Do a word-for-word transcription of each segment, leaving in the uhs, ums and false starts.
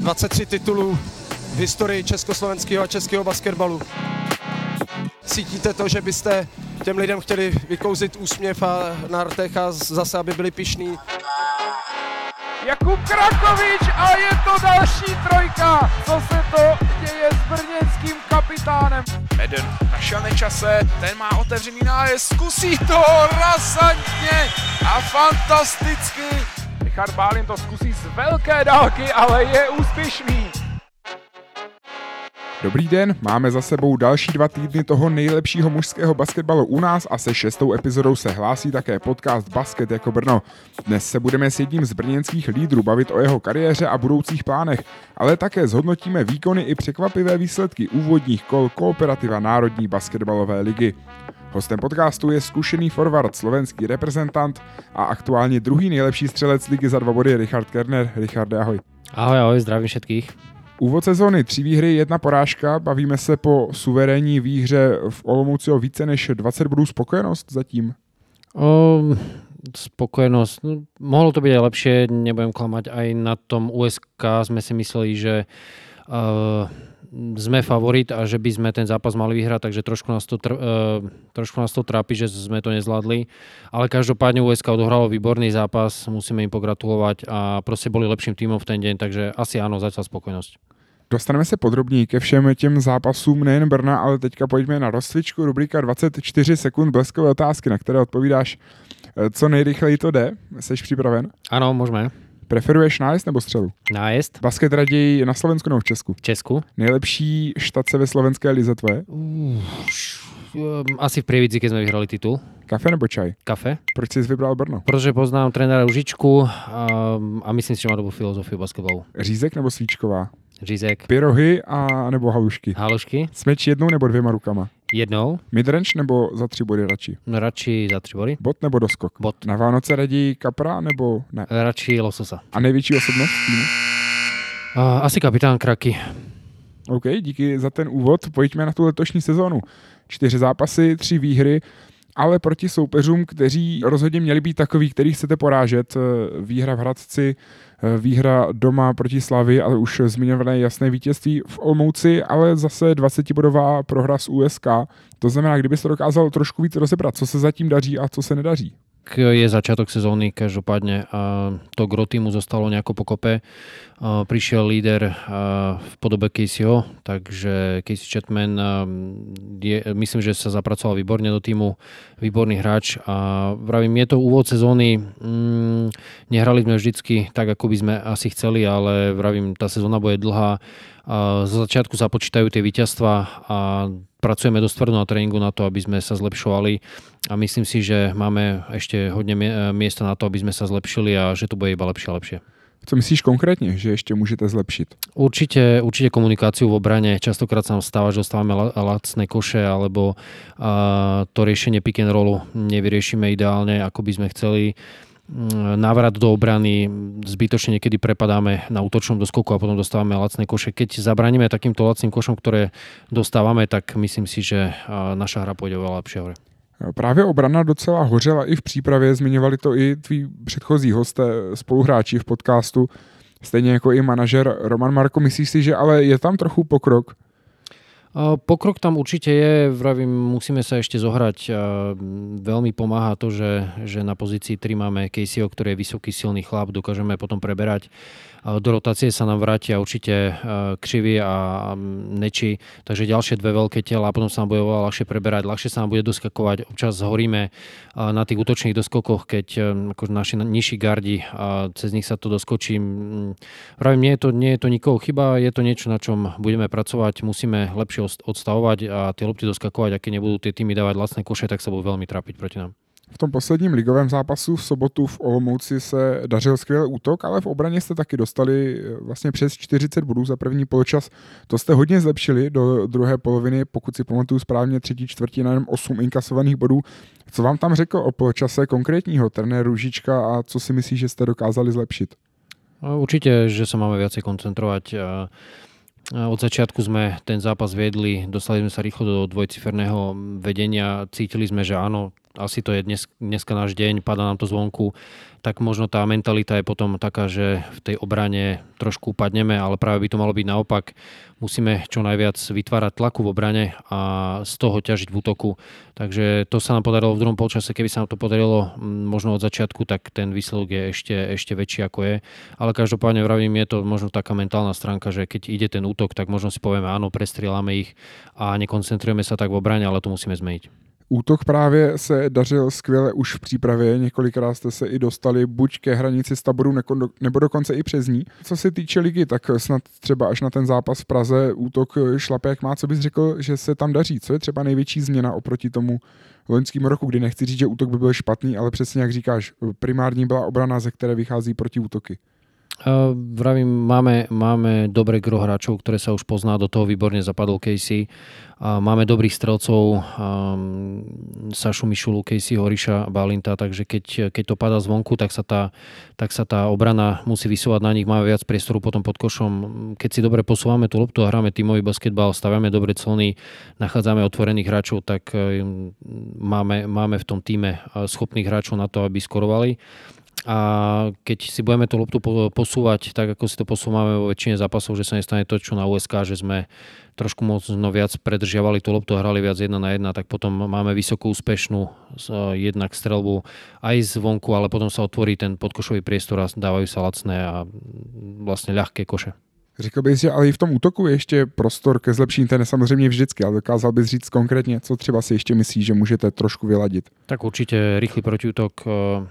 dvacet tři titulů v historii československého a českého basketbalu. Cítíte to, že byste těm lidem chtěli vykouzit úsměv a na rtech a zase, aby byli pyšní? Jakub Krakovič a je to další trojka. Co se to děje s brněnským kapitánem? Eden našel nečase, ten má otevřený nájezd, zkusí to razantně a fantasticky. Richard Bálin to zkusí z velké dálky, ale je úspěšný. Dobrý den, máme za sebou další dva týdny toho nejlepšího mužského basketbalu u nás a se šestou epizodou se hlásí také podcast Basket jako Brno. Dnes se budeme s jedním z brněnských lídrů bavit o jeho kariéře a budoucích plánech, ale také zhodnotíme výkony i překvapivé výsledky úvodních kol Kooperativa Národní basketbalové ligy. Hostem podcastu je zkušený forward, slovenský reprezentant a aktuálně druhý nejlepší střelec ligy za dva body Richard Kerner. Richarde, ahoj. Ahoj, ahoj, zdravím všetkých. Úvod sezóny, tři výhry, jedna porážka, bavíme se po suverénní výhře v Olomouci o více než dvacet bodů, spokojenost zatím? O, spokojenosť, no, mohlo to byť aj lepšie, nebudem klamať, aj na tom U S K sme si mysleli, že uh, sme favorit a že by sme ten zápas mali vyhrať, takže trošku nás to, tr- uh, trošku nás to trápi, že sme to nezvládli, ale každopádne U S K odohralo výborný zápas, musíme im pogratulovať a proste boli lepším týmom v ten deň, takže asi áno, zatiaľ spokojnosť. Dostaneme se podrobněji ke všem těm zápasům nejen Brna, ale teďka pojďme na rozcvičku, rubrika dvacet čtyři sekund bleskové otázky, na které odpovídáš co nejrychleji to jde. Seš připraven? Áno, môžeme. Preferuješ nájezd nebo střelu? Nájezd. Basket raději na Slovensku nebo v Česku? V Česku. Nejlepší štace ve slovenské lize tvoje? Uh, asi v Prievidzi, keď sme vyhrali titul. Kafe nebo čaj? Kafe. Proč jsi vybral Brno? Protože poznám trenéra Ružičku a, a myslím si, že má dobrou filozofiu basketbalu. Řízek nebo svíčková? Řízek. Pyrohy a nebo halušky? Halušky. Smeč jednou nebo dvěma rukama? Jednou. Midrange nebo za tři body radši? No, radši za tři body. Bot nebo doskok? Bot. Na Vánoce raději kapra nebo ne? Radši lososa. A největší osobnost týmu? Uh, asi kapitán Kraky. OK, díky za ten úvod. Pojďme na tu letošní sezónu. Čtyři zápasy, tři výhry, ale proti soupeřům, kteří rozhodně měli být takový, který chcete porážet. Výhra v Hradci, výhra doma proti Slavii a už zmiňované jasné vítězství v Olomouci, ale zase dvacetibodová prohra s U S K. To znamená, kdybyste dokázal trošku víc rozebrat, co se zatím daří a co se nedaří. Je začiatok sezóny, každopádne a to gro týmu zostalo nejako pokope. A prišiel líder v podobe Caseyho, takže Casey Chapman je, myslím, že sa zapracoval výborne do týmu, výborný hráč a vravím, je to úvod sezóny, mm, nehrali sme vždycky tak, ako by sme asi chceli, ale vravím, tá sezóna bude dlhá. A zo začiatku sa počítajú tie víťazstva a pracujeme dosť tvrdo na tréningu na to, aby sme sa zlepšovali a myslím si, že máme ešte hodne miesta na to, aby sme sa zlepšili a že to bude iba lepšie a lepšie. Co myslíš konkrétně, že ještě můžete zlepšit? Určite, určite komunikáciu v obrane. Častokrát sa nám stáva, že dostávame lacné koše alebo a, to riešenie pick and rollu nevyriešime ideálne, ako by sme chceli. Návrat do obrany, zbytočne niekedy prepadáme na útočnom doskoku a potom dostávame lacné koše. Keď zabraníme takýmto lacným košom, ktoré dostávame, tak myslím si, že naša hra pôjde oveľa lepšie hore. Právě obrana docela hořela i v přípravě, zmiňovali to i tví předchozí hosté, spoluhráči v podcastu, stejně jako i manažer Roman Marko. Myslíš si, že ale je tam trochu pokrok? Pokrok tam určite je, vravím, musíme sa ešte zohrať. Veľmi pomáha to, že, že na pozícii tri máme Caseyho, ktorý je vysoký, silný chlap, dokážeme potom preberať. Do rotácie sa nám vrátia určite Krivý a Neči, takže ďalšie dve veľké tela a potom sa nám bude oveľa ľahšie preberať, ľahšie sa nám bude doskakovať. Občas horíme na tých útočných doskokoch, keď ako naši nižší gardi a cez nich sa to doskočí. Vravím, nie je to, nie je to nikoho chyba, je to niečo, na čom budeme pracovať, musíme lepšie odstavovať a tie lopty doskakovať, a keď nebudú tie týmy dávať lacné koše, tak sa budú veľmi trápiť proti nám. V tom posledním ligovém zápasu v sobotu v Olomouci se dařil skvělý útok, ale v obraně jste taky dostali vlastně přes čtyřicet bodů za první poločas. To jste hodně zlepšili do druhé poloviny, pokud si pamatuju správně, třetí čtvrtina jenom osm inkasovaných bodů. Co vám tam řekl o poločase konkrétního trenér Ružička a co si myslíš, že jste dokázali zlepšit? Určite, že sa máme viacej koncentrovať. Od začiatku sme ten zápas viedli, dostali sme sa rýchlo do dvojciferného vedenia, cítili sme, že áno, asi to je dnes, dneska náš deň, padá nám to zvonku, tak možno tá mentalita je potom taká, že v tej obrane trošku upadneme, ale práve by to malo byť naopak. Musíme čo najviac vytvárať tlaku v obrane a z toho ťažiť v útoku. Takže to sa nám podarilo v druhom polčase. Keby sa nám to podarilo možno od začiatku, tak ten výsledok je ešte, ešte väčší ako je. Ale každopádne vravím, je to možno taká mentálna stránka, že keď ide ten útok, tak možno si povieme áno, prestrieľame ich a nekoncentrujeme sa tak v obrane, ale to musíme zmeniť. Útok právě se dařil skvěle už v přípravě, několikrát jste se i dostali buď ke hranici z taboru nebo dokonce i přes ní. Co se týče ligy, tak snad třeba až na ten zápas v Praze útok šlape jak má. Co bys řekl, že se tam daří? Co je třeba největší změna oproti tomu loňskému roku, kdy nechci říct, že útok by byl špatný, ale přesně jak říkáš, primární byla obrana, ze které vychází protiútoky. Uh, vravím, máme, máme dobré gro hráčov, ktoré sa už pozná, do toho výborne zapadol Casey. Uh, máme dobrých strelcov, um, Sašu Mišulu, Casey Horiša, Balinta, takže keď, keď to padá zvonku, tak sa, tá, tak sa tá obrana musí vysúvať na nich, máme viac priestoru potom pod košom. Keď si dobre posúvame tú loptu a hráme tímový basketbal, staviame dobre clony, nachádzame otvorených hráčov, tak um, máme, máme v tom tíme schopných hráčov na to, aby skorovali. A keď si budeme tú loptu posúvať tak, ako si to posúvame vo väčšine zápasov, že sa nestane to, čo na ú es ká, že sme trošku možno viac predržiavali tú loptu a hrali viac jedna na jedna, tak potom máme vysokú úspešnú jednak strelbu aj zvonku, ale potom sa otvorí ten podkošový priestor a dávajú sa lacné a vlastne ľahké koše. Řekl bys, že ale i v tom útoku je ještě prostor ke zlepšení, ten je samozřejmě vždycky, ale dokázal bys říct konkrétně, co třeba si ještě myslíš, že můžete trošku vyladit? Tak určite rýchly protiútok,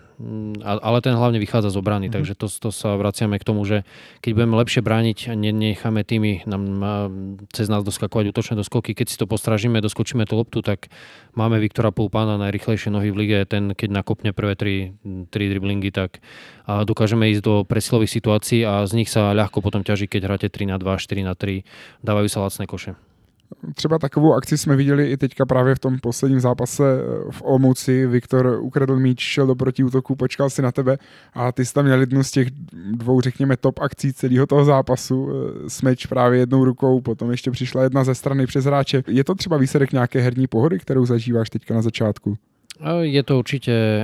ale ten hlavne vychádza z obrany, mm. takže to, to sa vraciame k tomu, že keď budeme lepšie brániť, nenecháme tými nám cez nás doskakovať útočné doskoky, keď si to postražíme, doskočíme tú loptu, tak máme Viktora Poupana, najrýchlejšie nohy v lige, ten keď nakopne prvé tri, tri driblingy, tak dokážeme ísť do presilových situácií a z nich sa ľahko potom ťaží, keď hráte tri na dva, štyri na tri, dávajú sa lacné koše. Třeba takovou akci jsme viděli i teďka právě v tom posledním zápase v Olomouci. Viktor ukradl míč, šel do protiútoku, počkal si na tebe a ty jsi tam měl jednu z těch dvou, řekněme, top akcí celého toho zápasu. Smeč právě jednou rukou, potom ještě přišla jedna ze strany přes hráče. Je to třeba výsledek nějaké herní pohody, kterou zažíváš teďka na začátku? Je to určite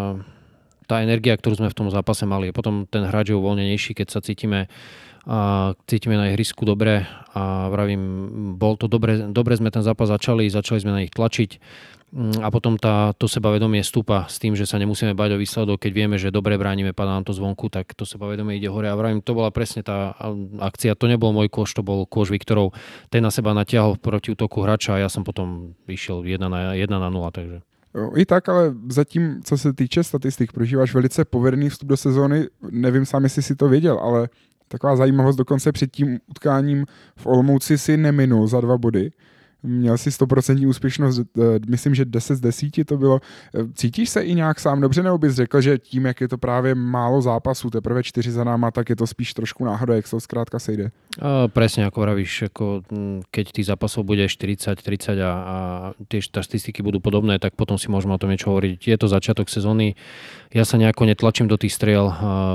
tá energia, ktorú sme v tom zápase mali. Potom ten hráč je uvoľnenejší, keď sa cítime a cítime na ihrisku dobre a vravím, bol to dobre, dobre sme ten zápas začali, začali sme na nich tlačiť a potom tá, to sebavedomie stúpa s tým, že sa nemusíme báť o výsledok, keď vieme, že dobre bránime, padá nám to zvonku, tak to sebavedomie ide hore a vravím, to bola presne tá akcia, to nebol môj kôš, to bol kôš Viktorov, ten na seba natiahol proti útoku hráča a ja som potom vyšiel jedna na nula, takže I tak, ale zatím, co se týče statistik, prožíváš velice povedený vstup do sezóny. Nevím sám, jestli si to věděl, ale taková zajímavost, dokonce před tím utkáním v Olomouci si neminul za dva body. Měl si sto procent úspěšnost, myslím, že deset z deseti to bylo. Cítíš se i nějak sám dobře, nebo bys řekl, že tím, jak je to právě málo zápasů, teprve čtyři za náma, tak je to spíš trošku náhoda, jak se to zkrátka sejde? A presne ako vravíš, ako keď tých zápasov bude štyridsať tridsať a, a tie štatistiky budú podobné, tak potom si môžeme o tom niečo hovoriť. Je to začiatok sezóny, ja sa nejako netlačím do tých striel,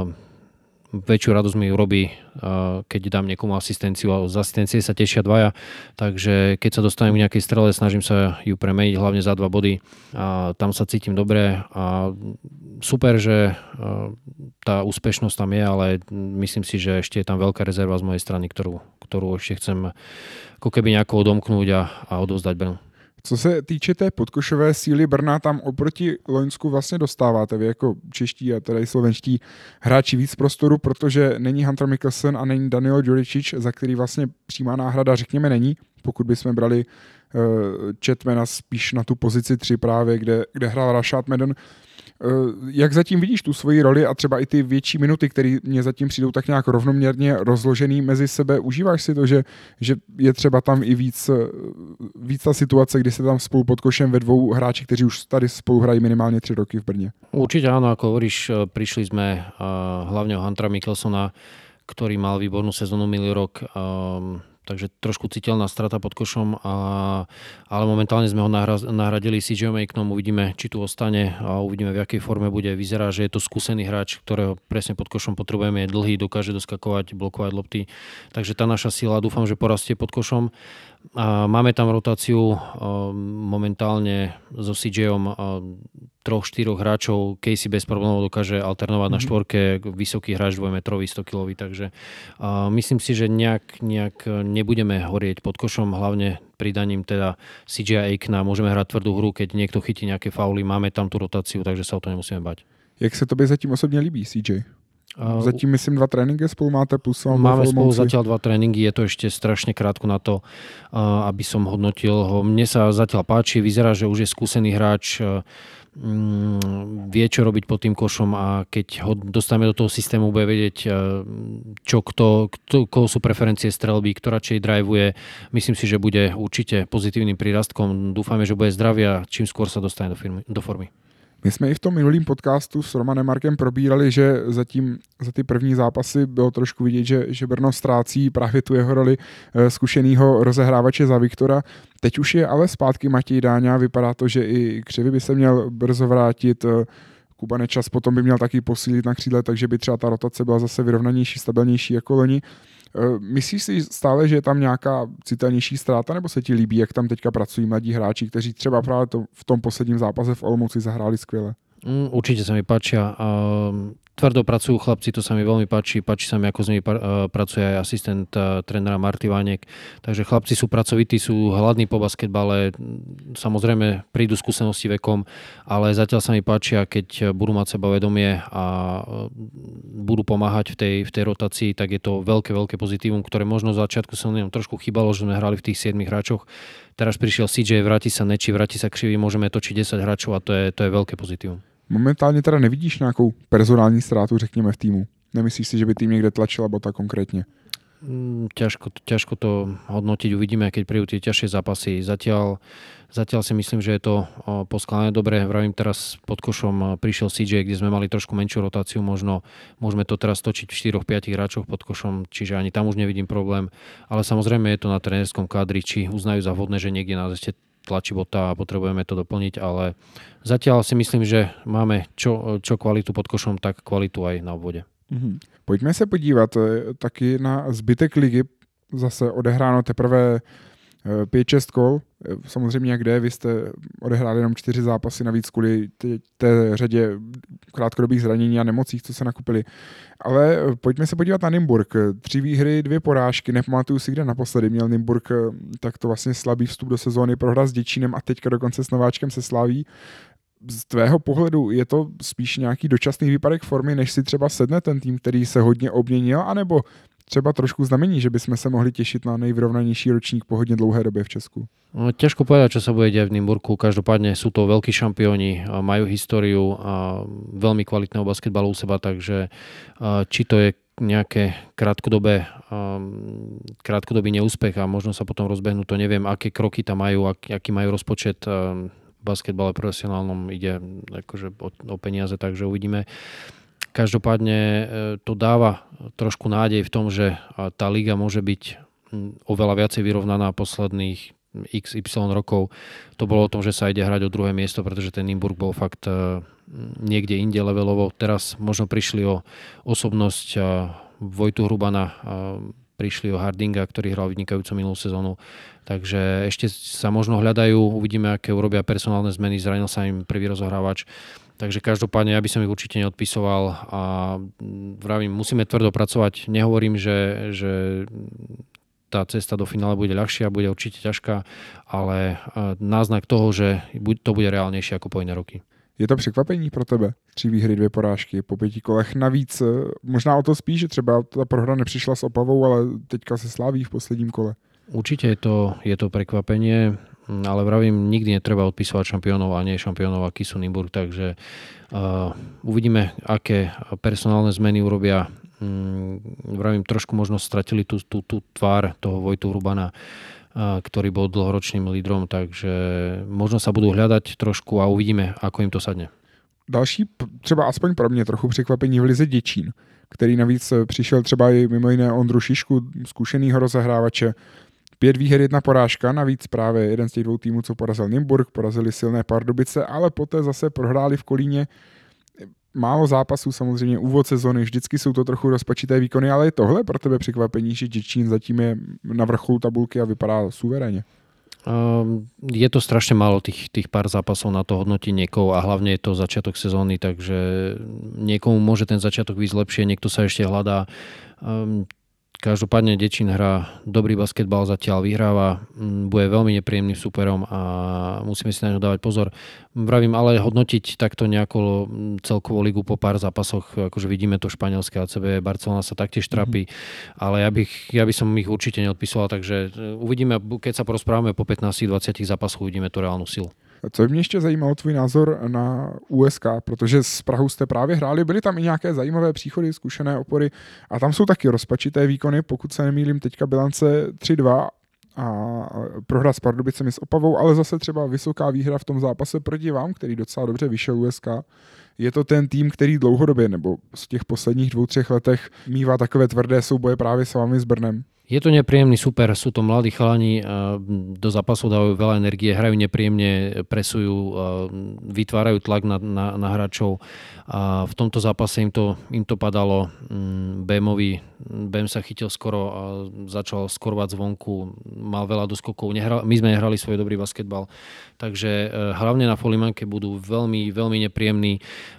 väčšiu radosť mi urobí, keď dám niekomu asistenciu a z asistencie sa tešia dvaja, takže keď sa dostanem k nejakej strele, snažím sa ju premeniť hlavne za dva body a tam sa cítim dobre a super, že tá úspešnosť tam je, ale myslím si, že ešte je tam veľká rezerva z mojej strany, ktorú, ktorú ešte chcem ako keby nejako odomknúť a, a odovzdať Brnu. Co se týče té podkošové síly Brna, tam oproti Loňsku vlastně dostáváte vy jako čeští a teda i slovenští hráči víc prostoru, protože není Hunter Mikkelsen a není Danilo Đuričić, za který vlastně přímá náhrada, řekněme, není. Pokud bychom brali uh, Chetmana spíš na tu pozici tři právě, kde, kde hrál Rashad Madden. Uh, jak zatím vidíš tu svoji roli a třeba i ty větší minuty, které mě zatím přijdou tak nějak rovnoměrně rozložený mezi sebe? Užíváš si to, že, že je třeba tam i víc, víc ta situace, kdy se tam spolu pod košem ve dvou hráči, kteří už tady spolu hrají minimálně tři roky v Brně? Určite áno, ako hovoríš, prišli sme uh, hlavne o Huntera Mikkelsona, ktorý mal výbornú sezónu minulý rok. Um, takže trošku citeľná strata pod košom, a, ale momentálne sme ho nahra, nahradili C J Aiknom, uvidíme, či tu ostane a uvidíme, v akej forme bude. Vyzerá, že je to skúsený hráč, ktorého presne pod košom potrebujeme, je dlhý, dokáže doskakovať, blokovať lopty, takže tá naša sila dúfam, že porastie pod košom. A máme tam rotáciu momentálne so C Jom troch, štyroch hráčov. Casey bez problémov dokáže alternovať mm-hmm. na štvorke, vysoký hráč dvojmetrový, sto kilový, takže uh, myslím si, že nejak, nejak nebudeme horieť pod košom, hlavne pridaním teda C J Aikna. Môžeme hrať tvrdú hru, keď niekto chytí nejaké fauly, máme tam tú rotáciu, takže sa o to nemusíme bať. Jak se tobě zatím osobně líbí C J? Zatím myslím dva tréninky spolu máte plus máme spolu zatiaľ dva tréningy, je to ešte strašne krátko na to, aby som hodnotil ho. Mne sa zatiaľ páči, vyzerá, že už je skúsený hráč, vie čo robiť pod tým košom a keď ho dostaneme do toho systému, bude vedieť, čo kto, kto koho sú preferencie strelby, kto radšej drivuje. Myslím si, že bude určite pozitívnym prírastkom. Dúfame, že bude zdravý a čím skôr sa dostane do, firmy, do formy. My jsme i v tom minulým podcastu s Romanem Markem probírali, že zatím za ty první zápasy bylo trošku vidět, že, že Brno ztrácí právě tu jeho roli zkušenýho rozehrávače za Viktora. Teď už je ale zpátky Matěj Dáňa, vypadá to, že i Křivý by se měl brzo vrátit, Kuba Nečas potom by měl taky posílit na křídle, takže by třeba ta rotace byla zase vyrovnanější, stabilnější jako loni. Myslíš si stále, že je tam nějaká citelnější ztráta, nebo se ti líbí, jak tam teďka pracují mladí hráči, kteří třeba právě to, v tom posledním zápase v Olomouci zahráli skvěle? Mm, určite sa mi páčia. Uh, tvrdo pracujú chlapci, to sa mi veľmi páči. Páči sa mi, ako s nimi uh, pracuje aj asistent uh, trénera Marty Vánek. Takže chlapci sú pracovití, sú hladní po basketbale. Samozrejme prídu skúsenosti vekom, ale zatiaľ sa mi páčia, keď budú mať sebavedomie a uh, budú pomáhať v tej, v tej rotácii, tak je to veľké, veľké pozitívum, ktoré možno v začiatku sa nám trošku chýbalo, že sme hrali v tých siedmich hráčoch. Teraz prišiel C J, vráti sa Neči, vráti sa Křivý, môžeme točiť desať hráčov a to je, to je veľké pozitívum. Momentálně teda nevidíš nějakou personální ztrátu, řekněme, v týmu? Nemyslíš si, že by tým někde tlačila Bota konkrétně? Ťažko, ťažko to hodnotiť, uvidíme, keď prídu tie ťažšie zápasy. Zatiaľ, zatiaľ si myslím, že je to poskladané dobre. Vravím, teraz pod košom prišiel C J, kde sme mali trošku menšiu rotáciu, možno môžeme to teraz točiť v štyroch päť hráčoch pod košom, čiže ani tam už nevidím problém. Ale samozrejme je to na trénerskom kádri, či uznajú za vhodné, že niekde nás ešte tlačí Bota a potrebujeme to doplniť, ale zatiaľ si myslím, že máme čo, čo kvalitu pod košom, tak kvalitu aj na obvode. Mm-hmm. Pojďme se podívat taky na zbytek ligy. Zase odehráno teprve pět šest kol. Samozřejmě kde, vy jste odehráli jenom čtyři zápasy, navíc kvůli té řadě krátkodobých zranění a nemocích, co se nakupili. Ale pojďme se podívat na Nymburk. Tři výhry, dvě porážky. Nepamatuju si, kde naposledy měl Nymburk takto vlastně slabý vstup do sezóny, prohra s Děčínem a teďka dokonce s nováčkem se Slaví. Z tvého pohledu je to spíš nějaký dočasný výpadek formy, než si třeba sedne ten tým, který se hodně obměnil, anebo třeba trošku znamení, že bychom se mohli těšit na nejvyrovnanější ročník po hodně dlouhé době v Česku? No, ťažko povedať, čo sa bude diať v Nymburku. Každopádne sú to veľkí šampióni, majú históriu a veľmi kvalitného basketbalu u seba, takže či to je nejaké krátkodobé, krátkodobý neúspech a možno sa potom rozbehnú, to neviem, aké kroky tam majú, aký majú rozpočet. V basketbale profesionálnom ide akože o, o peniaze, takže uvidíme. Každopádne to dáva trošku nádej v tom, že tá liga môže byť oveľa viacej vyrovnaná posledných iks ypsilon rokov. To bolo o tom, že sa ide hrať o druhé miesto, pretože ten Nymburk bol fakt niekde inde levelovo. Teraz možno prišli o osobnosť Vojtu Hrubana, prišli o Hardinga, ktorý hral vynikajúcu minulú sezónu. Takže ešte sa možno hľadajú, uvidíme, aké urobia personálne zmeny, zranil sa im prvý rozohrávač. Takže každopádne ja by som ich určite neodpisoval a vravím, musíme tvrdo pracovať. Nehovorím, že, že tá cesta do finále bude ľahšia, bude určite ťažká, ale náznak toho, že to bude reálnejšie ako po iné roky. Je to překvapení pro tebe? Tři výhry, dvě porážky po pěti kolech. Navíc možná o to spíš, že třeba ta prohra nepřišla s Opavou, ale teďka se Slaví v posledním kole. Určite je to, je to prekvapenie, ale vravím, nikdy netreba odpisovať šampiónov a nie šampiónov, aký sú Nymburk, takže uh, uvidíme, aké personálne zmeny urobia. Um, vravím, trošku možno stratili tú, tú, tú tvár toho Vojtu Hrubana, uh, ktorý bol dlhoročným lídrom, takže možno sa budú hľadať trošku a uvidíme, ako im to sadne. Další, třeba aspoň pro mě trochu překvapení v lize Děčín, který navíc přišel třeba i mimo jiné Ondru Šišku, zkušenýho rozehrávače. Pět výher, jedna porážka, navíc právě jeden z těch dvou týmů, co porazil Nymburk, porazili silné Pardubice, ale poté zase prohráli v Kolíně. Málo zápasů, samozřejmě úvod sezony, vždycky jsou to trochu rozpačité výkony, ale je tohle pro tebe překvapení, že Děčín zatím je na vrcholu tabulky a vypadá suverénne? Um, je to strašne málo tých, tých pár zápasov na to hodnotiť niekoho a hlavne je to začiatok sezóny, takže niekomu môže ten začiatok výjsť lepšie, niekto sa ešte hľadá. Um, Každopádne Děčín hrá dobrý basketbal, zatiaľ vyhráva, bude veľmi nepríjemným superom a musíme si na ňo dávať pozor. Vravím, ale hodnotiť takto nejako celkovú ligu po pár zápasoch, akože vidíme to španielské á cé bé, Barcelona sa taktiež trápi, mm-hmm. ale ja, bych, ja by som ich určite neodpisoval, takže uvidíme, keď sa porozprávame po pätnásť dvadsať zápasoch, uvidíme tu reálnu silu. Co mě ještě zajímalo tvůj názor na U S K, protože s Prahou jste právě hráli, byly tam i nějaké zajímavé příchody, zkušené opory a tam jsou taky rozpačité výkony, pokud se nemýlím, teďka bilance tři dva a prohra s Pardubicemi s Opavou, ale zase třeba vysoká výhra v tom zápase proti vám, který docela dobře vyšel U S K. Je to ten tým, který dlouhodobě nebo z těch posledních dvou, třech letech mívá takové tvrdé souboje právě s vámi s Brnem? Je to nepríjemný super, sú to mladí chalani, do zápasov dávajú veľa energie, hrajú nepríjemne, presujú, vytvárajú tlak na, na, na hráčov a v tomto zápase im to, im to padalo. Bémovi, Bém sa chytil skoro a začal skorovať zvonku, mal veľa doskokov, Nehral, my sme nehrali svoj dobrý basketbal, takže hlavne na Folimanke budú veľmi, veľmi nepríjemní,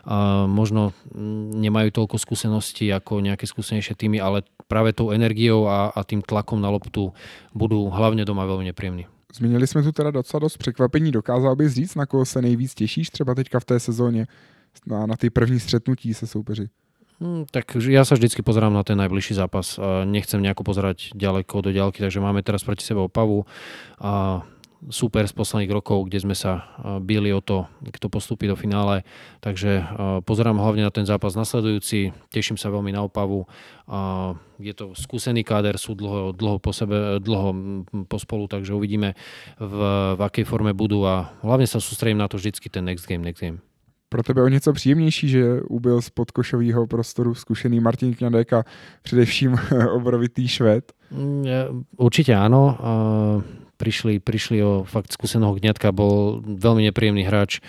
a možno nemajú toľko skúseností ako nejaké skúsenejšie týmy, ale práve tou energiou a, a tým tlakom na loptu budou hlavně doma velmi nepříjemný. Zmínili jsme tu teda docela dost překvapení. Dokázal bys říct, na koho se nejvíc těšíš třeba teďka v té sezóně na, na ty první střetnutí se soupeři? Hmm, tak ja sa vždycky pozerám na ten najbližší zápas. Nechcem nejako pozerať ďaleko do ďalky, takže máme teraz proti sebe Opavu a super z posledných rokov, kde sme sa bili o to, kto postupí do finále. Takže pozerám hlavne na ten zápas nasledujúci, teším sa veľmi na Opavu. Je to skúsený káder, sú dlho, dlho po sebe, dlho pospolu, takže uvidíme v, v akej forme budú a hlavne sa sústredím na to vždycky ten next game, next game. Pro tebe o něco příjemnější, že ubyl z podkošového prostoru zkušený Martin Kňadek a především obrovitý Švéd? Určite áno. Prišli, prišli o fakt skúseného Kňatka, bol veľmi nepríjemný hráč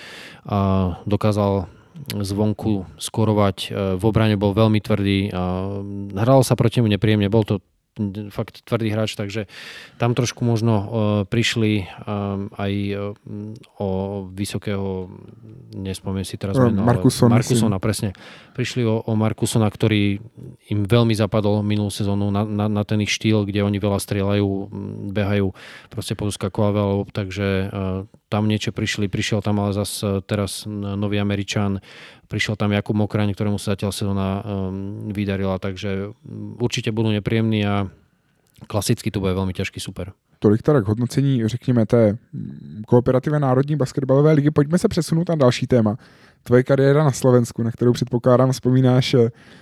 a dokázal zvonku skorovať. V obrane bol veľmi tvrdý a hralo sa proti nemu nepríjemne. Bol to fakt tvrdý hráč, takže tam trošku možno uh, prišli um, aj uh, o vysokého, nespomiem si teraz meno, Markusona, Markusona, presne. Prišli o, o Markusona, ktorý im veľmi zapadol minulú sezónu na, na, na ten ich štýl, kde oni veľa strieľajú, behajú, proste podoskakovali veľa, takže uh, tam niečo prišli, prišiel tam ale zase teraz nový Američan, prišiel tam Jakub Mokraň, ktorému sa zatiaľ sezóna um, vydarila, takže určite budú nepríjemní a klasicky to bude veľmi ťažký super. Tolik teda k hodnocení, řekněme, té kooperativě Národní basketbalové ligy. Pojďme se přesunout na další téma. Tvoje kariéra na Slovensku, na kterou předpokládám vzpomínáš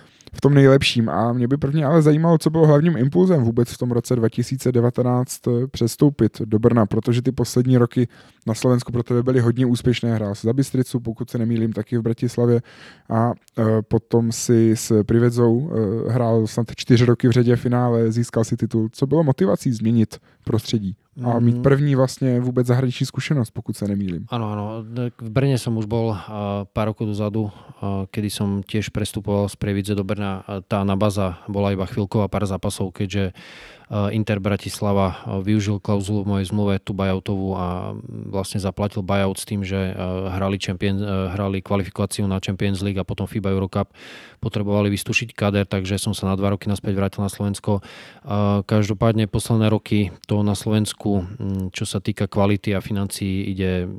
v tom nejlepším. A mě by prvně ale zajímalo, co bylo hlavním impulzem vůbec v tom roce dva tisíce devatenáct přestoupit do Brna, protože ty poslední roky na Slovensku pro tebe byly hodně úspěšné. Hrál si za Bystricu, pokud se nemýlím, taky v Bratislavě a e, potom si s Privedzou e, hrál snad čtyři roky v řadě finále, získal si titul. Co bylo motivací změnit prostředí a mít první vlastně vůbec zahraniční zkušenosť, pokud sa nemýlim? Áno, áno. V Brne som už bol pár rokov dozadu, kedy som tiež prestupoval z Prievidze do Brna. Tá anabaza bola iba chvíľková, pár zápasov, keďže Inter Bratislava využil klauzulu v mojej zmluve, tú buyoutovú a vlastne zaplatil buyout s tým, že hrali, champion, hrali kvalifikáciu na Champions League a potom FIBA Eurocup. Potrebovali vystúšiť kader, takže som sa na dva roky naspäť vrátil na Slovensko. Každopádne posledné roky to na Slovensku, čo sa týka kvality a financií, ide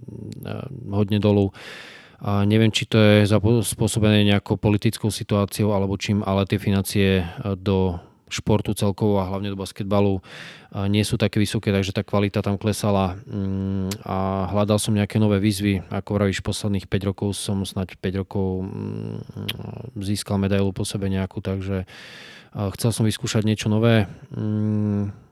hodne dolu. A neviem, či to je spôsobené nejakou politickou situáciou alebo čím, ale tie financie do športu celkovo a hlavne do basketbalu nie sú také vysoké, takže tá kvalita tam klesala a hľadal som nejaké nové výzvy. Ako vravíš, posledných päť rokov som snáď päť rokov získal medailu po sebe nejakú, takže chcel som vyskúšať niečo nové.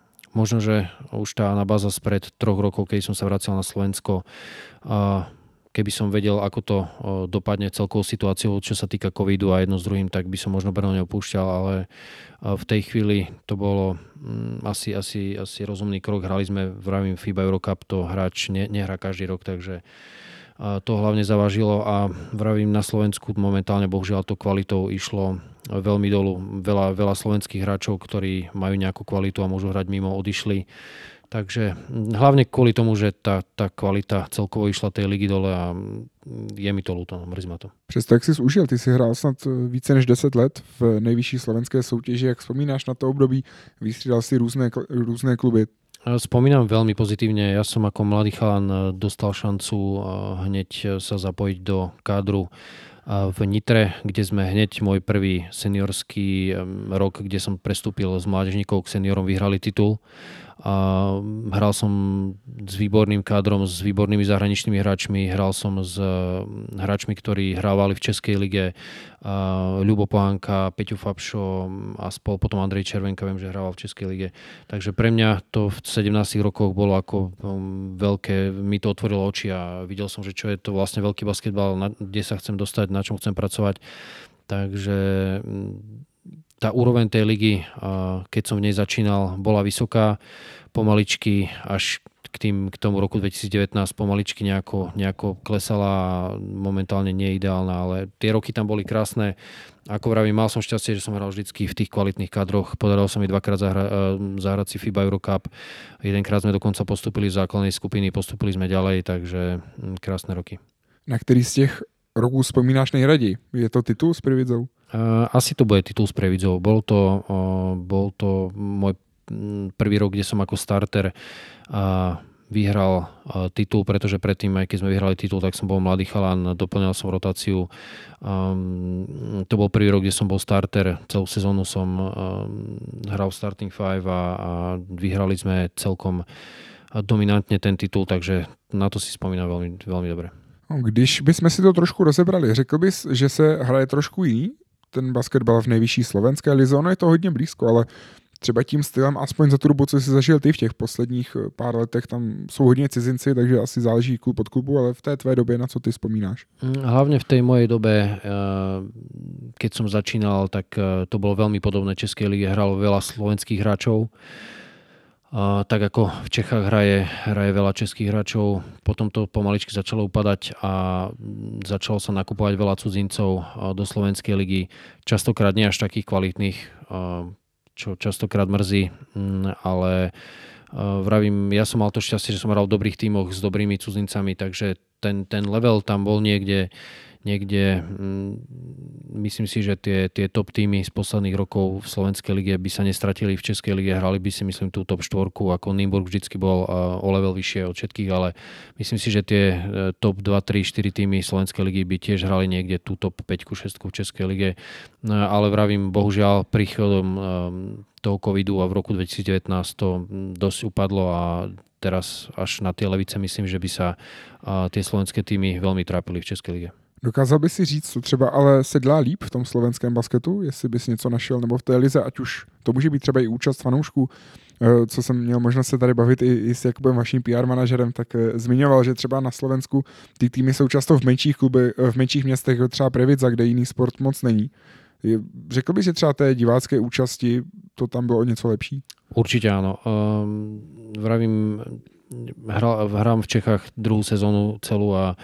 Možno, že už tá anabáza spred troch rokov, keď som sa vracal na Slovensko, keby som vedel, ako to dopadne celkovou situáciou, čo sa týka covidu a jedno s druhým, tak by som možno Brno neopúšťal, ale v tej chvíli to bolo asi, asi, asi rozumný krok. Hrali sme v rámci FIBA Eurocup, to hráč ne, nehrá každý rok, takže to hlavne zavážilo a vravím, na Slovensku momentálne bohužiaľ to kvalitou išlo veľmi dolu. Veľa, veľa slovenských hráčov, ktorí majú nejakú kvalitu a môžu hrať mimo, odišli. Takže hlavne kvôli tomu, že tá, tá kvalita celkovo išla tej ligy dole a je mi to ľúto, mrzí ma to. Přesto, jak jsi užil, ty jsi hrál snad více než deset let v nejvyšší slovenské soutěži. Jak vzpomínáš na to období? Vystřídal si různé, různé kluby. Spomínam veľmi pozitívne. Ja som ako mladý chalan dostal šancu hneď sa zapojiť do kádru v Nitre, kde sme hneď môj prvý seniorský rok, kde som prestúpil z mládežníkov k seniorom, vyhrali titul. A hral som s výborným kádrom, s výbornými zahraničnými hráčmi, hral som s hráčmi, ktorí hrávali v Českej lige, Ľubo Pohánka, Peťo Fabšo a spol, potom Andrej Červenka, viem, že hrával v Českej lige. Takže pre mňa to v sedemnástich rokoch bolo ako veľké, mi to otvorilo oči a videl som, že čo je to vlastne veľký basketbal, kde sa chcem dostať, na čom chcem pracovať. Takže tá úroveň tej ligy, keď som v nej začínal, bola vysoká, pomaličky až k, tým, k tomu roku dvetisícdevätnásť pomaličky nejako, nejako klesala a momentálne nie je ideálna, ale tie roky tam boli krásne. Ako vravím, mal som šťastie, že som hral vždycky v tých kvalitných kadroch. Podarilo sa mi dvakrát zahra- zahrať si FIBA Eurocup. Jedenkrát sme dokonca postupili z základnej skupiny, postupili sme ďalej, takže krásne roky. Na ktorý z těch roků vzpomínáš nejraději? Je to titul s Prievidzou? Asi to bude titul s Prievidzou. Bol to, bol to môj prvý rok, kde som ako starter vyhral titul, pretože predtým, aj keď sme vyhrali titul, tak som bol mladý chalan, doplňal som rotáciu. To bol prvý rok, kde som bol starter. Celú sezónu som hral starting five a, a vyhrali sme celkom dominantne ten titul, takže na to si spomínam veľmi, veľmi dobre. Když bychom si to trošku rozebrali, řekl bys, že se hraje trošku jiný ten basketbal v nejvyšší slovenské lize? Ono je to hodně blízko, ale třeba tím stylem, aspoň za tu dobu, co jsi zažil ty v těch posledních pár letech, tam jsou hodně cizinci, takže asi záleží klub od klubu, ale v té tvé době na co ty vzpomínáš? Hlavne v tej mojej dobe, keď som začínal, tak to bolo veľmi podobné. Českej lige hralo veľa slovenských hráčov. Uh, tak ako v Čechách hraje, hraje veľa českých hráčov, potom to pomaličky začalo upadať a začalo sa nakupovať veľa cudzincov uh, do slovenskej ligy, častokrát nie až takých kvalitných, uh, čo častokrát mrzí, um, ale uh, vravím, ja som mal to šťastie, že som hral v dobrých tímoch s dobrými cudzincami, takže ten, ten level tam bol niekde, niekde mm, myslím si, že tie, tie top týmy z posledných rokov v slovenskej lige by sa nestratili v českej lige, hrali by si myslím tú top štvorku, ako Nymburk vždycky bol uh, o level vyššie od všetkých, ale myslím si, že tie uh, top dva, tri, štyri týmy slovenskej ligy by tiež hrali niekde tú top päť, šesť v českej lige, no, ale vravím, bohužiaľ príchodom um, toho covidu a v roku dvetisícdevätnásť to dosť upadlo a teraz až na tie levice myslím, že by sa uh, tie slovenské týmy veľmi trápili v českej lige. Dokázal by si říct, co třeba ale se dělá líp v tom slovenském basketu, jestli bys něco našel, nebo v té lize, ať už to může být třeba i účast fanoušků, co jsem měl možnost se tady bavit i, i s Jakubem, vaším P R manažerem, tak zmiňoval, že třeba na Slovensku ty týmy jsou často v menších kluby, v menších městech, jako třeba Prievidza, kde jiný sport moc není. Řekl bys, že třeba té divácké účasti to tam bylo o něco lepší? Určite áno. Um, vravím, hral, hrám v Čechách druhú sezónu celú a,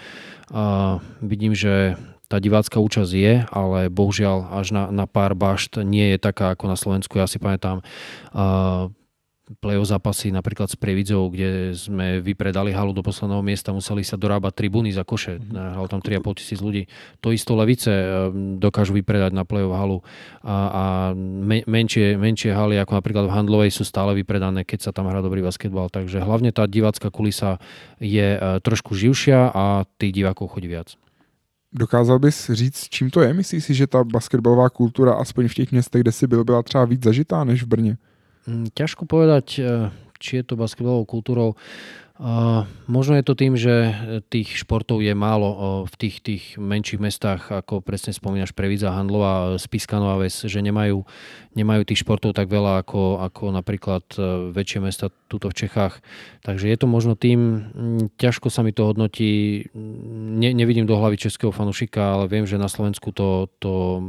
a vidím, že tá divácka účasť je, ale bohužiaľ až na, na pár bašt nie je taká ako na Slovensku. Ja si pamätám uh, play-off zápasy napríklad s Prievidzou, kde sme vypredali halu do posledného miesta, museli sa dorábať tribúny za koše. Hral tam tri a pol tisíc ľudí. To isto Levice dokážu vypredať na play-off halu a, a me, menšie, menšie haly, ako napríklad v Handlovej, sú stále vypredané, keď sa tam hrá dobrý basketbal. Takže hlavne tá divácka kulisa je trošku živšia a tých divákov chodí viac. Dokázal bys říct, čím to je? Myslíš si, že ta basketbalová kultura aspoň v těch městech, kde si byl, byla třeba víc zažitá než v Brně? Ťažko povedať, či je to basketbalovou kultúrou. Uh, možno je to tým, že tých športov je málo uh, v tých, tých menších mestách, ako presne spomínaš Previdza, Handlova, Spišská Nová Ves, že nemajú, nemajú tých športov tak veľa ako, ako napríklad uh, väčšie mesta tuto v Čechách. Takže je to možno tým, ťažko sa mi to hodnotí, ne, nevidím do hlavy českého fanúšika, ale viem, že na Slovensku to, to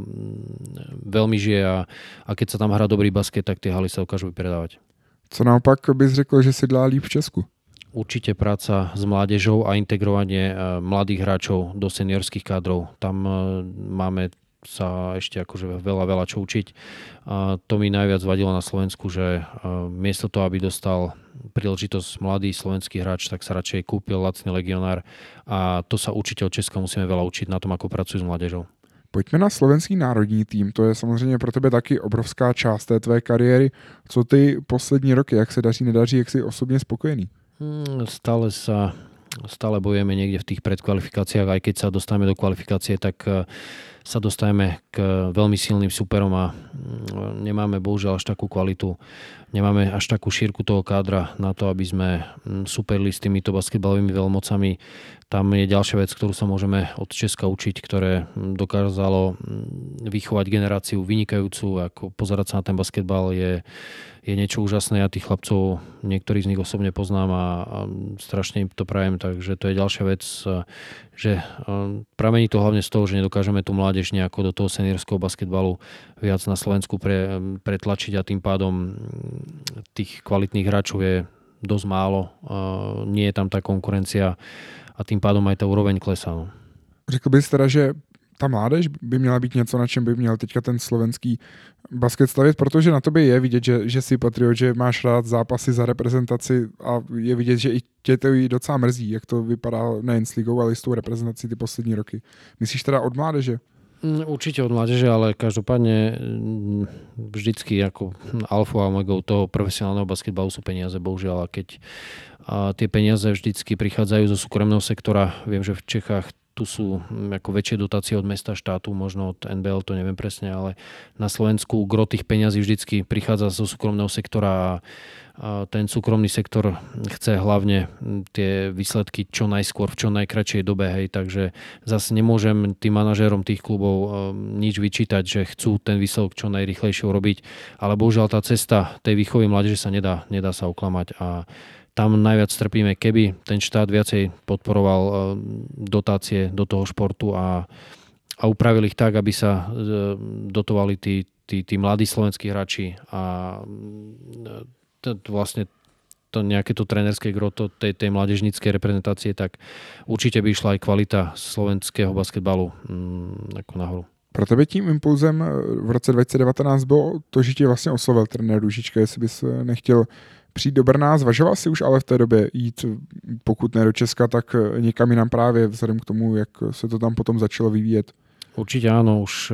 veľmi žije a, a keď sa tam hrá dobrý basket, tak tie haly sa dokážu vypredávať. Co naopak bys řekl, že si dá líp v Česku? Určite práca s mládežou a integrovanie mladých hráčov do seniorských kádrov. Tam máme sa ešte akože veľa, veľa čo učiť. A to mi najviac vadilo na Slovensku, že miesto toho, aby dostal príležitosť mladý slovenský hráč, tak sa radšej kúpil lacný legionár a to sa určite od Česka musíme veľa učiť na tom, ako pracujú s mládežou. Pojďme na slovenský národní tým, to je samozřejmě pro tebe taky obrovská část té tvé kariéry. Co ty poslední roky, jak se daří, nedaří, jak si osobně spokojený? Stále sa, stále bojujeme niekde v tých predkvalifikáciách, aj keď sa dostaneme do kvalifikácie, tak sa dostaneme k veľmi silným superom a nemáme bohužiaľ až takú kvalitu, nemáme až takú šírku toho kádra na to, aby sme superili s týmito basketbalovými veľmocami. Tam je ďalšia vec, ktorú sa môžeme od Česka učiť, ktoré dokázalo vychovať generáciu vynikajúcu, ako pozerať sa na ten basketbal je, je niečo úžasné. Ja tých chlapcov, niektorých z nich osobne poznám a, a strašne im to prajem, takže to je ďalšia vec, že pramení to hlavne z toho, že nedokážeme tú mládež nejako do toho seniorského basketbalu viac na Slovensku pre, pretlačiť a tým pádom tých kvalitných hráčov je dosť málo. Nie je tam tá konkurencia a tím pádom aj ta úroveň klesá. No. Řekl bys teda, že ta mládež by měla být něco, na čem by měl teďka ten slovenský basket stavět, protože na tobě je vidět, že, že jsi patriot, že máš rád zápasy za reprezentaci a je vidět, že i tě to i docela mrzí, jak to vypadá nejen s ligou, ale i s tou reprezentací ty poslední roky. Myslíš teda od mládeže? Určite od mládeže, ale každopádne vždycky ako alfa a omegou toho profesionálneho basketbalu sú peniaze, bohužiaľ. A keď a tie peniaze vždycky prichádzajú zo súkromného sektora, viem, že v Čechách tu sú ako väčšie dotácie od mesta, štátu, možno od en bé el, to neviem presne, ale na Slovensku gro tých peňazí vždycky prichádza zo súkromného sektora a a ten súkromný sektor chce hlavne tie výsledky čo najskôr, v čo najkratšej dobe, hej, takže zase nemôžem tým manažérom tých klubov nič vyčítať, že chcú ten výsledok čo najrýchlejšie urobiť, ale bohužiaľ tá cesta tej výchovy mládeže sa nedá, nedá sa oklamať a tam najviac trpíme, keby ten štát viacej podporoval dotácie do toho športu a, a upravil ich tak, aby sa dotovali tí, tí, tí mladí slovenskí hráči a to vlastne to nejaké to trénerské gro tej, tej mládežníckej reprezentácie, tak určite by išla aj kvalita slovenského basketbalu mm, ako nahoru. Pro tebe tím impulzem v roce dvacet devatenáct bylo to, že ti vlastně oslovil trenér Růžička, jestli bys nechtěl přijít do Brna. Zvažoval si už ale v té době jít, pokud ne do Česka, tak někam jinam právě vzhledem k tomu, jak se to tam potom začalo vyvíjet? Určite áno, už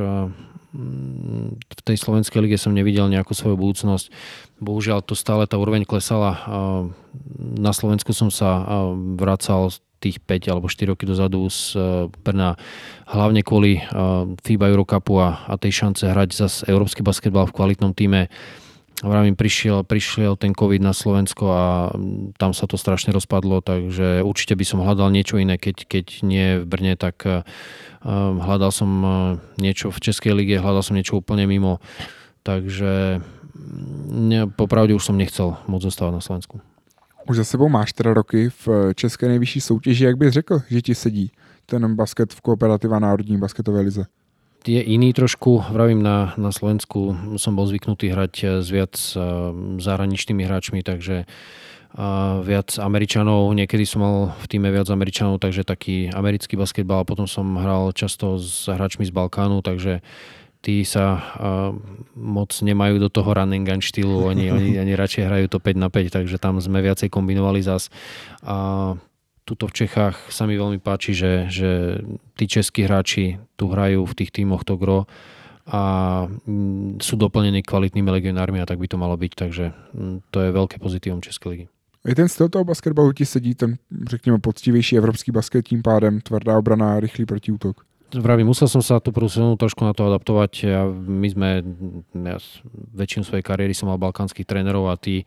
v tej slovenskej lige som nevidel nejakú svoju budúcnosť. Bohužiaľ to stále tá úroveň klesala. Na Slovensku som sa vracal tých päť alebo štyri roky dozadu z Brna hlavne kvôli FIBA Eurocupu a, a tej šance hrať zase európsky basketbal v kvalitnom týme. Vravím, prišiel, prišiel ten COVID na Slovensko a tam sa to strašne rozpadlo, takže určite by som hľadal niečo iné, keď, keď nie v Brne, tak uh, hľadal som niečo v Českej lige, hľadal som niečo úplne mimo, takže ne, popravde už som nechcel moc zostávať na Slovensku. Už za sebou máš teda roky v české nejvyšší soutěži, jak bys řekl, že ti sedí ten basket v Kooperativa národní basketové lize? Je iný trošku, vravím, na, na Slovensku som bol zvyknutý hrať s viac zahraničnými hráčmi, takže a viac Američanov, niekedy som mal v týme viac Američanov, takže taký americký basketbal, potom som hral často s hráčmi z Balkánu, takže tí sa a, moc nemajú do toho run and gun štýlu, oni, oni, oni radšej hrajú to päť na päť, takže tam sme viacej kombinovali zas. A tuto v Čechách sa mi veľmi páči, že, že tí českí hráči tu hrajú v tých tímoch to gro a sú doplnení kvalitnými legionármi a tak by to malo byť, takže to je veľké pozitívum Českej ligy. I ten styl toho basketbalu ti sedí, ten řekněme poctivější evropský basket, tím pádem tvrdá obrana, rychlý protiútok. Vravím, musel som sa tú prvú sezónu trošku na to adaptovať. Ja, my sme, ja väčšinu svojej kariéry som mal balkánskych trénerov a tí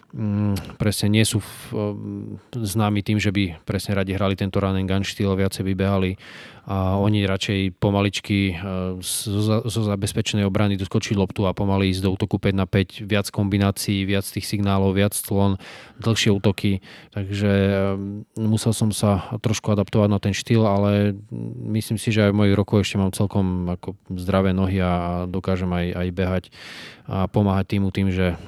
presne nie sú v, známi tým, že by presne radi hrali tento run and gun štýl, viacej vybehali a oni radšej pomaličky zo, zo zabezpečenej obrany doskočiť loptu a pomaly ísť do útoku päť na päť, viac kombinácií, viac tých signálov, viac clon, dlhšie útoky, takže musel som sa trošku adaptovať na ten štýl, ale myslím si, že aj v mojich rokoch ešte mám celkom ako zdravé nohy a dokážem aj, aj behať a pomáhať týmu tým, že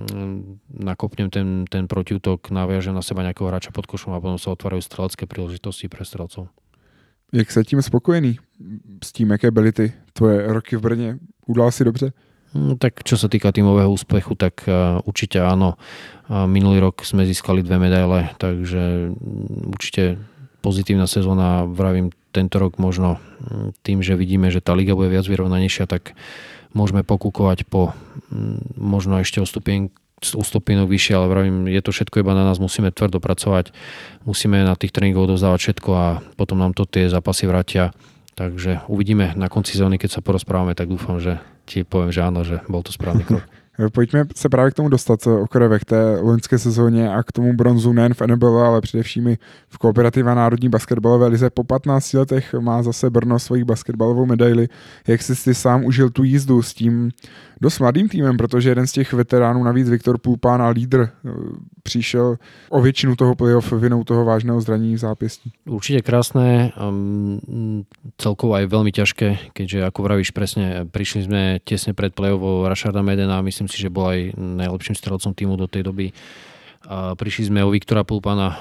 nakopnem ten, ten protiútok, naviažem na seba nejakého hráča pod košom a potom sa otvárajú strelecké príležitosti pre strelcov. Jak se tím spokojený s tím, jaké byly ty tvoje roky v Brně? Udal si dobře? No, tak čo sa týka tímového úspechu, tak uh, určite áno. Uh, minulý rok sme získali dve medaile, takže um, určite pozitívna sezóna. Vravím, tento rok možno um, tým, že vidíme, že tá liga bude viac vyrovnanejšia, tak môžeme pokúkovať po um, možno ešte o stupien ústupienok vyššie, ale vravím, je to všetko iba na nás, musíme tvrdo pracovať, musíme na tých tréningoch dovzdávať všetko a potom nám to tie zápasy vrátia. Takže uvidíme na konci sezóny, keď sa porozprávame, tak dúfam, že ti poviem, že áno, že bol to správny krok. Pojďme se právě k tomu dostat okrajové k té loňské sezóně a k tomu bronzu nejen v N B L, ale především i v Kooperativa Národní basketbalové lize. Po patnácti letech má zase Brno svoji basketbalovou medaili. Jak jsi si sám užil tu jízdu s tím dost mladým týmem, protože jeden z těch veteránů, navíc Viktor Pulpán a lídr, přišel o většinu toho playoff vinou toho vážného zranění v zápěstí. Určite krásne, um, celkovo aj veľmi ťažké, keďže ako vravíš presne, prišli sme tesne pred playoffom Rašarda Medena, myslím si, že bol aj najlepším strelcom týmu do tej doby. A prišli sme o Viktora Pulpana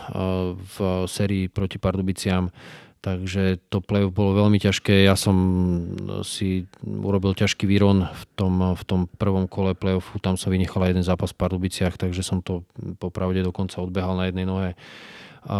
v sérii proti Pardubiciam, takže to playoff bolo veľmi ťažké. Ja som si urobil ťažký výron v tom, v tom prvom kole playoffu, tam som vynechal jeden zápas v Pardubiciach, takže som to popravde dokonca odbehal na jednej nohe. A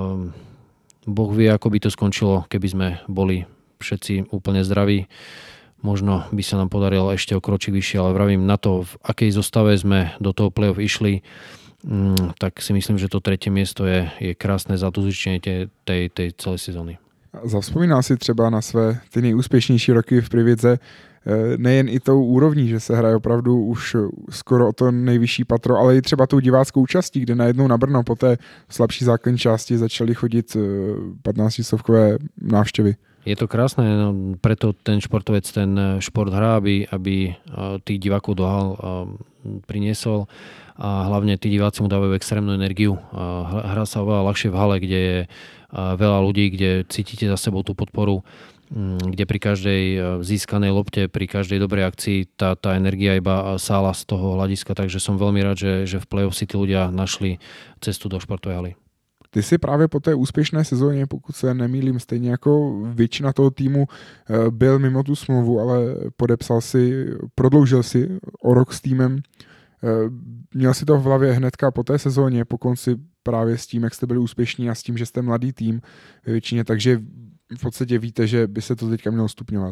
Boh vie, ako by to skončilo, keby sme boli všetci úplne zdraví. Možno by sa nám podarilo ešte o kročík vyššie, ale vravím, na to, v akej zostave sme do toho play-off išli, mm, tak si myslím, že to tretie miesto je, je krásne zatúzičenie tej, tej, tej celej sezóny. Zavzpomínal si třeba na své ty nejúspěšnější roky v Prividze, nejen i tou úrovní, že se hraje opravdu už skoro o to nejvyšší patro, ale i třeba tou diváckou účastí, kde najednou na Brno po té slabší základní části začaly chodit patnáctistovkové návštěvy. Je to krásne, no, preto ten športovec ten šport hrá, aby, aby tých divákov do hal priniesol a hlavne tí diváci mu dávajú extrémnu energiu. Hrá sa oveľa ľahšie v hale, kde je veľa ľudí, kde cítite za sebou tú podporu, kde pri každej získanej lopte, pri každej dobrej akcii tá, tá energia iba sála z toho hľadiska, takže som veľmi rád, že, že v play-off si tí ľudia našli cestu do športovej haly. Ty si právě po té úspěšné sezóně, pokud se nemýlím, stejně jako většina toho týmu byl mimo tu smlouvu, ale podepsal si, prodloužil si o rok s týmem. Měl si to v hlavě hnedka po té sezóně, po konci právě s tím, jak jste byli úspěšní a s tím, že jste mladý tým ve většině, takže v podstatě víte, že by se to teďka mělo stupňovat.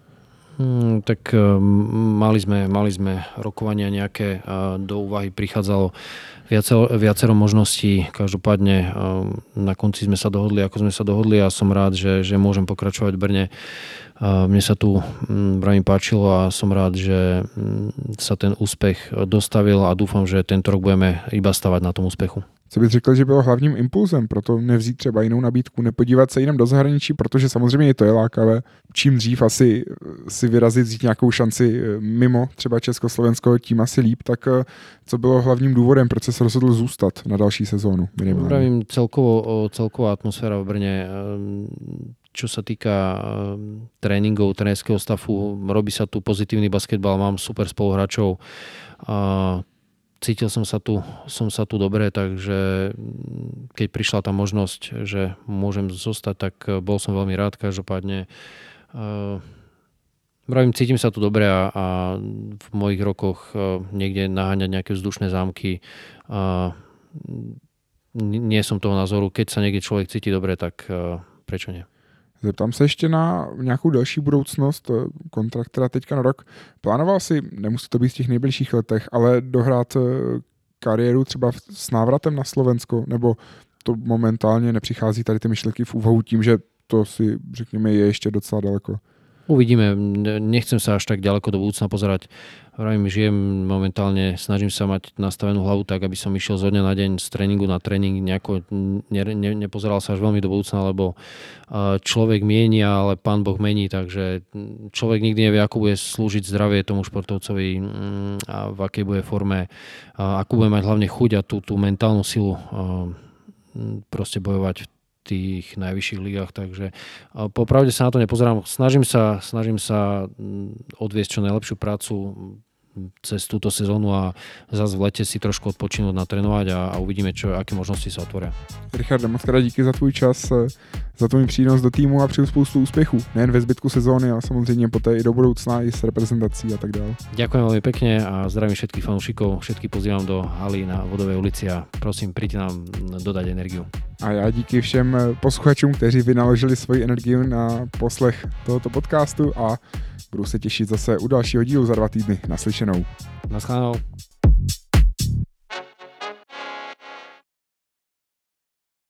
Hmm, tak mali sme, mali sme rokovania nejaké a do úvahy prichádzalo viacero, viacero možností. Každopádne na konci sme sa dohodli, ako sme sa dohodli a som rád, že, že môžem pokračovať v Brne. A mne sa tu veľmi páčilo a som rád, že sa ten úspech dostavil a dúfam, že tento rok budeme iba stavať na tom úspechu. Co bych řekl, že bylo hlavním impulzem pro to nevzít třeba jinou nabídku, nepodívat se jenom do zahraničí, protože samozřejmě to je lákavé. Čím dřív asi si vyrazit, vzít nějakou šanci mimo třeba Československo, tím asi líp. Tak co bylo hlavním důvodem, proč se rozhodl zůstat na další sezónu? Pravím, celkovo, celková atmosféra v Brne, čo sa týka tréningov, trénerského stavu, robí sa tu pozitívny basketbal, mám super spoluhráčov a cítil som sa tu, som sa tu dobre, takže keď prišla tá možnosť, že môžem zostať, tak bol som veľmi rád. Každopádne uh, vravím, cítim sa tu dobre a, a v mojich rokoch uh, niekde naháňať nejaké vzdušné zámky. Uh, nie som toho názoru, keď sa niekde človek cíti dobre, tak uh, prečo nie? Zeptám se ještě na nějakou další budoucnost, kontrakt teda teďka na rok. Plánoval si, nemusí to být v těch nejbližších letech, ale dohrát kariéru třeba s návratem na Slovensko, nebo to momentálně nepřichází tady ty myšlenky v úvahu tím, že to si, řekněme, je ještě docela daleko? Uvidíme, nechcem sa až tak ďaleko do budúcna pozerať. Vravím, žijem momentálne, snažím sa mať nastavenú hlavu tak, aby som išiel zo dňa na deň z tréningu na tréning, nejako ne, ne, nepozeral sa až veľmi do budúcna, lebo človek mieni, ale Pán Boh mení, takže človek nikdy nevie, ako bude slúžiť zdravie tomu športovcovi a v akej bude forme, akú bude mať hlavne chuť a tú, tú mentálnu silu proste bojovať v tých najvyšších ligách, takže popravde sa na to nepozerám. Snažím sa, snažím sa odviesť čo najlepšiu prácu cez túto sezónu a zase v lete si trošku odpočinúť, natrénovať a, a uvidíme, čo, aké možnosti sa otvoria. Richarde, moc krát díky za tvůj čas, za tvůj přínos do týmu a přeju spoustu úspěchů. Nejen ve zbytku sezóny, ale samozřejmě poté i do budoucna, i s reprezentací a tak dále. Ďakujem veľmi pekne a zdravím všetkých fanúšikov, všetkých pozývam do haly na Vodovej ulici a prosím, príďte nám dodať energiu. A já díky všem posluchačům, kteří vynaložili svoji energii na poslech tohoto podcastu a budu se těšit zase u dalšího dílu za dva týdny. Naslyšenou. Naschledanou.